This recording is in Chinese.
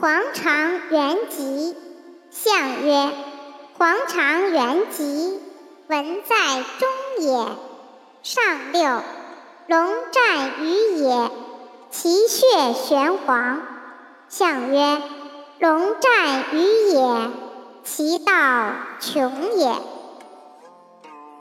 黄肠元吉，象曰：黄肠元吉，文在中也。上六，龙战于野，其血玄黄。象曰：龙战于野，其道穷也。